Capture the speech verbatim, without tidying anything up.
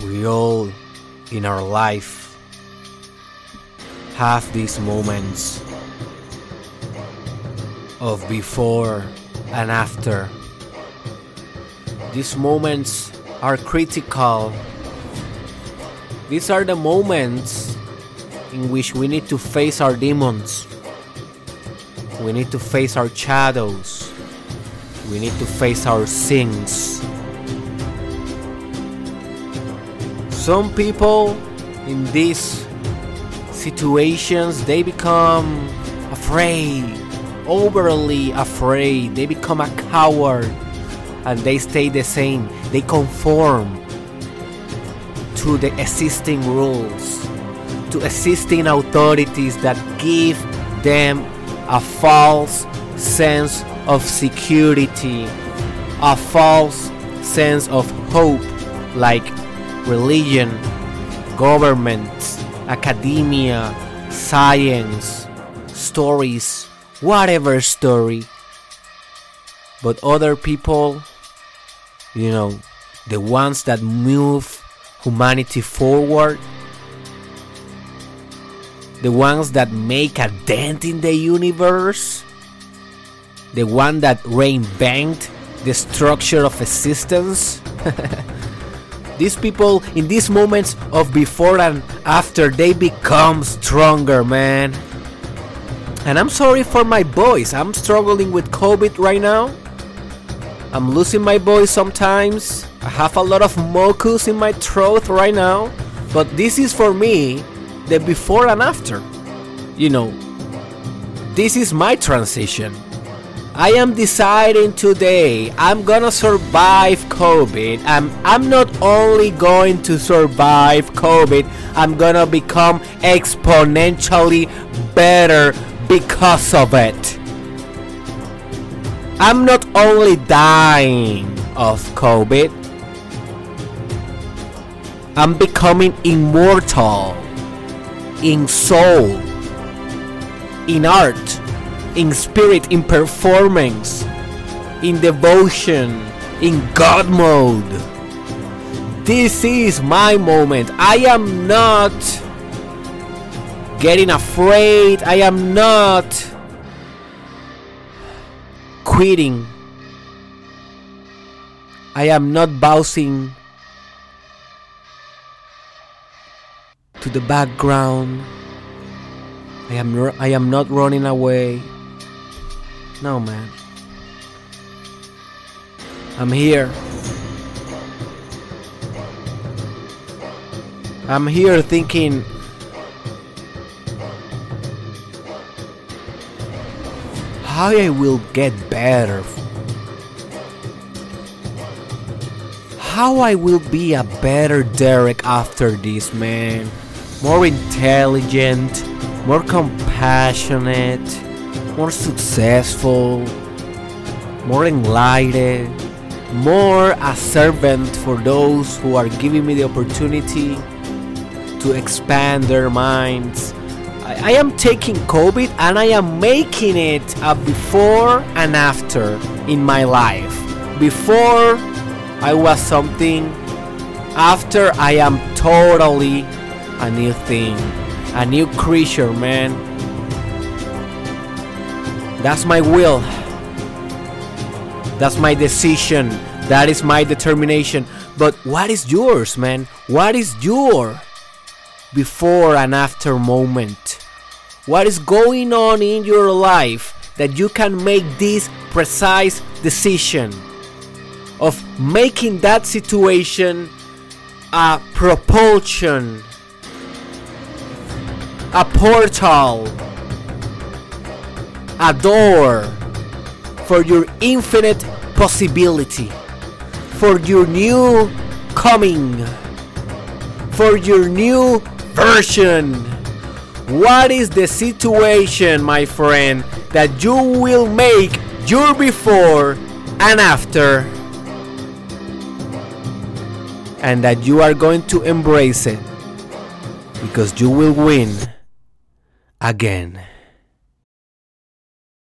We all in our life have these moments of before and after. These moments are critical. These are the moments in which we need to face our demons. We need to face our shadows. We need to face our sins. Some people in these situations, they become afraid, overly afraid. They become a coward and they stay the same. They conform to the existing rules, to existing authorities that give them a false sense of security, a false sense of hope, like religion, governments, academia, science, stories, whatever story. But other people, you know, the ones that move humanity forward, the ones that make a dent in the universe, the one that reinvent the structure of existence. These people, in these moments of before and after, they become stronger, man. And I'm sorry for my voice. I'm struggling with COVID right now. I'm losing my voice sometimes. I have a lot of mucus in my throat right now. But this is for me the before and after. You know, this is my transition. I am deciding today I'm gonna survive COVID. I'm, I'm not only going to survive COVID, I'm gonna become exponentially better because of it. I'm not only dying of COVID, I'm becoming immortal in soul, in art, in spirit, in performance, in devotion, in God mode. This is my moment. I am not getting afraid. I am not quitting. I am not bouncing to the background. I am r- I am not running away. No, man. I'm here. I'm here thinking how I will get better. How I will be a better Derek after this, man. More intelligent, more compassionate, more successful, more enlightened, more a servant for those who are giving me the opportunity to expand their minds. I, I am taking COVID and I am making it a before and after in my life. Before I was something, after I am totally a new thing, a new creature, man. That's my will. That's my decision. That is my determination. But what is yours, man? What is your before and after moment? What is going on in your life that you can make this precise decision of making that situation a propulsion, a portal, a door for your infinite possibility, for your new coming, for your new version? What is the situation, my friend, that you will make your before and after, and that you are going to embrace it because you will win again?